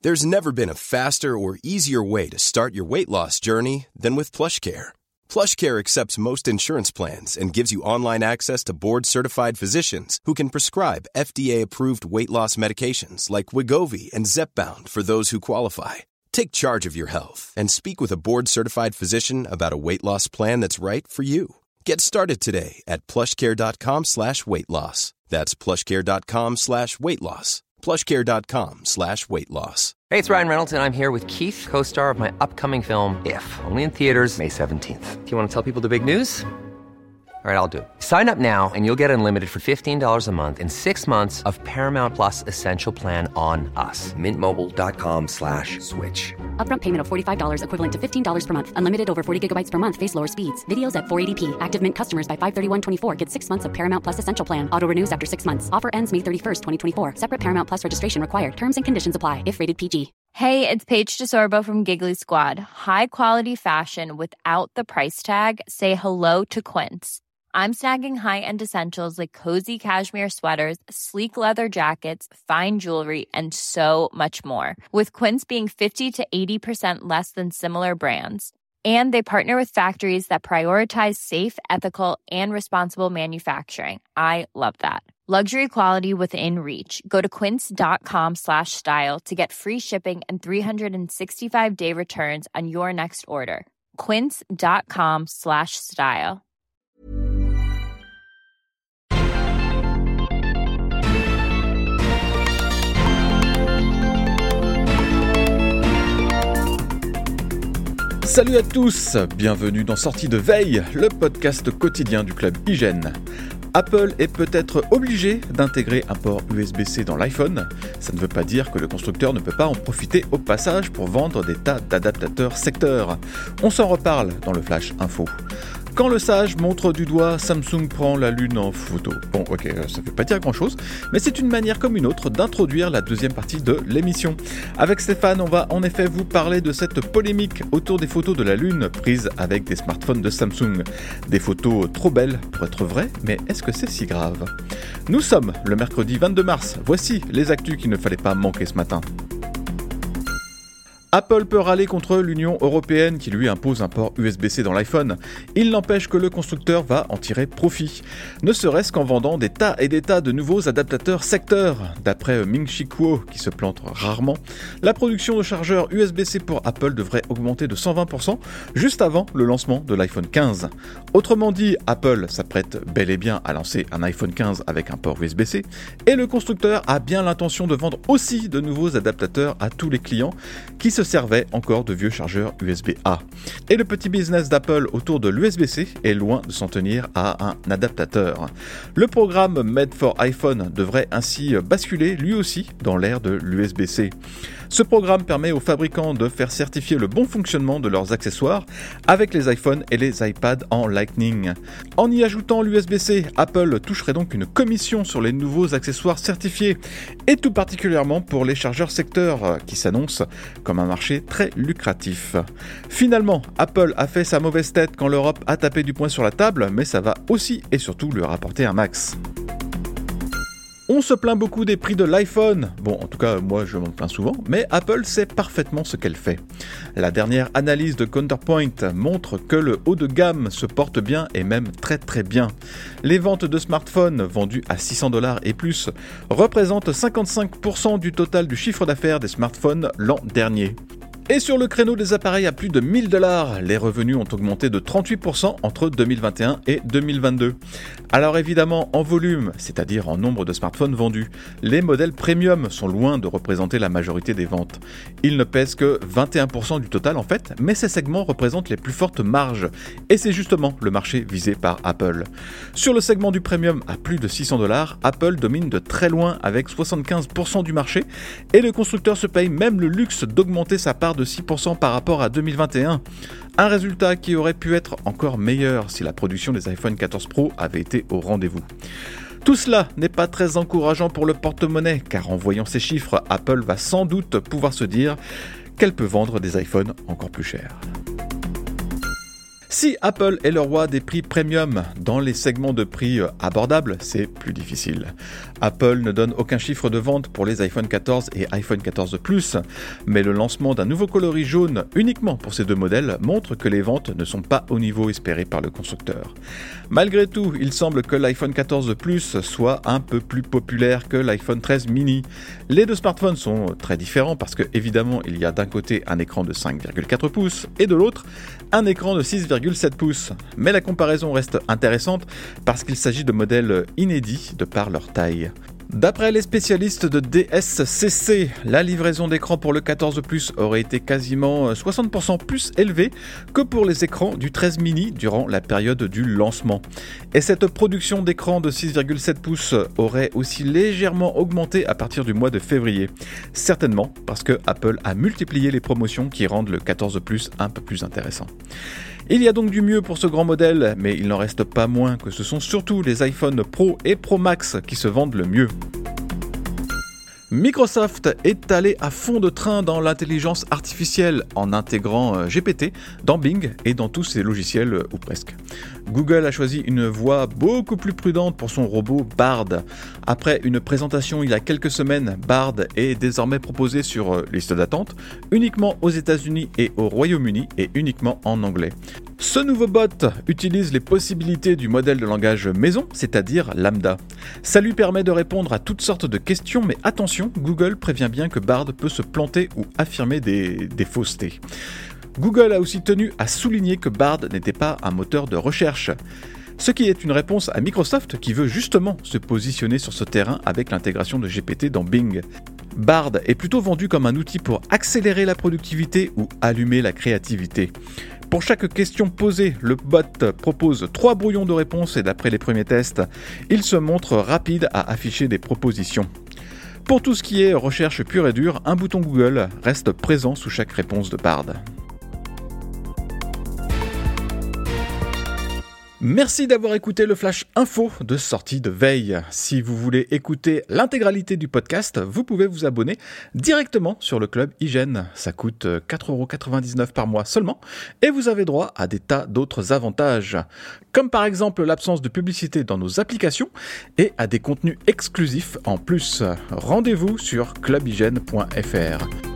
There's never been a faster or easier way to start your weight loss journey than with PlushCare. PlushCare accepts most insurance plans and gives you online access to board-certified physicians who can prescribe FDA-approved weight loss medications like Wegovy and Zepbound for those who qualify. Take charge of your health and speak with a board-certified physician about a weight loss plan that's right for you. Get started today at plushcare.com/weight loss. That's plushcare.com/weight loss. plushcare.com/weight loss. Hey, it's Ryan Reynolds, and I'm here with Keith, co-star of my upcoming film, If, only in theaters May 17th. Do you want to tell people the big news? All right, I'll do it. Sign up now and you'll get unlimited for $15 a month and 6 months of Paramount Plus Essential Plan on us. MintMobile.com/switch. Upfront payment of $45 equivalent to $15 per month. Unlimited over 40 gigabytes per month. Face lower speeds. Videos at 480p. Active Mint customers by 531.24 get 6 months of Paramount Plus Essential Plan. Auto renews after 6 months. Offer ends May 31st, 2024. Separate Paramount Plus registration required. Terms and conditions apply if rated PG. Hey, it's Paige DeSorbo from Giggly Squad. High quality fashion without the price tag. Say hello to Quince. I'm snagging high-end essentials like cozy cashmere sweaters, sleek leather jackets, fine jewelry, and so much more. With Quince being 50 to 80% less than similar brands. And they partner with factories that prioritize safe, ethical, and responsible manufacturing. I love that. Luxury quality within reach. Go to quince.com/style to get free shipping and 365-day returns on your next order. Quince.com/style. Salut à tous, bienvenue dans Sortie de Veille, le podcast quotidien du club IGN. Apple est peut-être obligé d'intégrer un port USB-C dans l'iPhone. Ça ne veut pas dire que le constructeur ne peut pas en profiter au passage pour vendre des tas d'adaptateurs secteurs. On s'en reparle dans le Flash Info. Quand le sage montre du doigt, Samsung prend la lune en photo. Bon, ok, ça ne veut pas dire grand-chose, mais c'est une manière comme une autre d'introduire la deuxième partie de l'émission. Avec Stéphane, on va en effet vous parler de cette polémique autour des photos de la lune prises avec des smartphones de Samsung. Des photos trop belles pour être vraies, mais est-ce que c'est si grave ? Nous sommes le mercredi 22 mars, voici les actus qu'il ne fallait pas manquer ce matin. Apple peut râler contre l'Union européenne qui lui impose un port USB-C dans l'iPhone. Il n'empêche que le constructeur va en tirer profit, ne serait-ce qu'en vendant des tas et des tas de nouveaux adaptateurs secteurs. D'après Ming-Chi Kuo, qui se plante rarement, la production de chargeurs USB-C pour Apple devrait augmenter de 120% juste avant le lancement de l'iPhone 15. Autrement dit, Apple s'apprête bel et bien à lancer un iPhone 15 avec un port USB-C, et le constructeur a bien l'intention de vendre aussi de nouveaux adaptateurs à tous les clients qui se servait encore de vieux chargeurs USB-A. Et le petit business d'Apple autour de l'USB-C est loin de s'en tenir à un adaptateur. Le programme Made for iPhone devrait ainsi basculer lui aussi dans l'ère de l'USB-C. Ce programme permet aux fabricants de faire certifier le bon fonctionnement de leurs accessoires avec les iPhones et les iPads en Lightning. En y ajoutant l'USB-C, Apple toucherait donc une commission sur les nouveaux accessoires certifiés, et tout particulièrement pour les chargeurs secteurs qui s'annoncent comme un marché très lucratif. Finalement, Apple a fait sa mauvaise tête quand l'Europe a tapé du poing sur la table, mais ça va aussi et surtout lui rapporter un max. On se plaint beaucoup des prix de l'iPhone. Bon, en tout cas, moi je m'en plains souvent, mais Apple sait parfaitement ce qu'elle fait. La dernière analyse de Counterpoint montre que le haut de gamme se porte bien et même très très bien. Les ventes de smartphones vendus à $600 et plus représentent 55% du total du chiffre d'affaires des smartphones l'an dernier. Et sur le créneau des appareils à plus de $1000, les revenus ont augmenté de 38% entre 2021 et 2022. Alors évidemment, en volume, c'est-à-dire en nombre de smartphones vendus, les modèles premium sont loin de représenter la majorité des ventes. Ils ne pèsent que 21% du total en fait, mais ces segments représentent les plus fortes marges. Et c'est justement le marché visé par Apple. Sur le segment du premium à plus de $600, Apple domine de très loin avec 75% du marché, et le constructeur se paye même le luxe d'augmenter sa part de 6% par rapport à 2021. Un résultat qui aurait pu être encore meilleur si la production des iPhone 14 Pro avait été au rendez-vous. Tout cela n'est pas très encourageant pour le porte-monnaie, car en voyant ces chiffres, Apple va sans doute pouvoir se dire qu'elle peut vendre des iPhones encore plus chers. Si Apple est le roi des prix premium, dans les segments de prix abordables, c'est plus difficile. Apple ne donne aucun chiffre de vente pour les iPhone 14 et iPhone 14 Plus, mais le lancement d'un nouveau coloris jaune uniquement pour ces deux modèles montre que les ventes ne sont pas au niveau espéré par le constructeur. Malgré tout, il semble que l'iPhone 14 Plus soit un peu plus populaire que l'iPhone 13 mini. Les deux smartphones sont très différents parce que évidemment il y a d'un côté un écran de 5,4 pouces et de l'autre un écran de 6,7 pouces. Mais la comparaison reste intéressante parce qu'il s'agit de modèles inédits de par leur taille. D'après les spécialistes de DSCC, la livraison d'écran pour le 14 Plus aurait été quasiment 60% plus élevée que pour les écrans du 13 mini durant la période du lancement. Et cette production d'écran de 6,7 pouces aurait aussi légèrement augmenté à partir du mois de février. Certainement parce que Apple a multiplié les promotions qui rendent le 14 Plus un peu plus intéressant. Il y a donc du mieux pour ce grand modèle, mais il n'en reste pas moins que ce sont surtout les iPhone Pro et Pro Max qui se vendent le mieux. Microsoft est allé à fond de train dans l'intelligence artificielle en intégrant GPT dans Bing et dans tous ses logiciels ou presque. Google a choisi une voie beaucoup plus prudente pour son robot Bard. Après une présentation il y a quelques semaines, Bard est désormais proposé sur liste d'attente uniquement aux États-Unis et au Royaume-Uni et uniquement en anglais. Ce nouveau bot utilise les possibilités du modèle de langage maison, c'est-à-dire Lambda. Ça lui permet de répondre à toutes sortes de questions, mais attention, Google prévient bien que Bard peut se planter ou affirmer des faussetés. Google a aussi tenu à souligner que Bard n'était pas un moteur de recherche. Ce qui est une réponse à Microsoft qui veut justement se positionner sur ce terrain avec l'intégration de GPT dans Bing. Bard est plutôt vendu comme un outil pour accélérer la productivité ou allumer la créativité. Pour chaque question posée, le bot propose 3 brouillons de réponses et d'après les premiers tests, il se montre rapide à afficher des propositions. Pour tout ce qui est recherche pure et dure, un bouton Google reste présent sous chaque réponse de Bard. Merci d'avoir écouté le Flash Info de sortie de veille. Si vous voulez écouter l'intégralité du podcast, vous pouvez vous abonner directement sur le Club Hygiène. Ça coûte 4,99€ par mois seulement et vous avez droit à des tas d'autres avantages, comme par exemple l'absence de publicité dans nos applications et à des contenus exclusifs en plus. Rendez-vous sur clubhygiène.fr.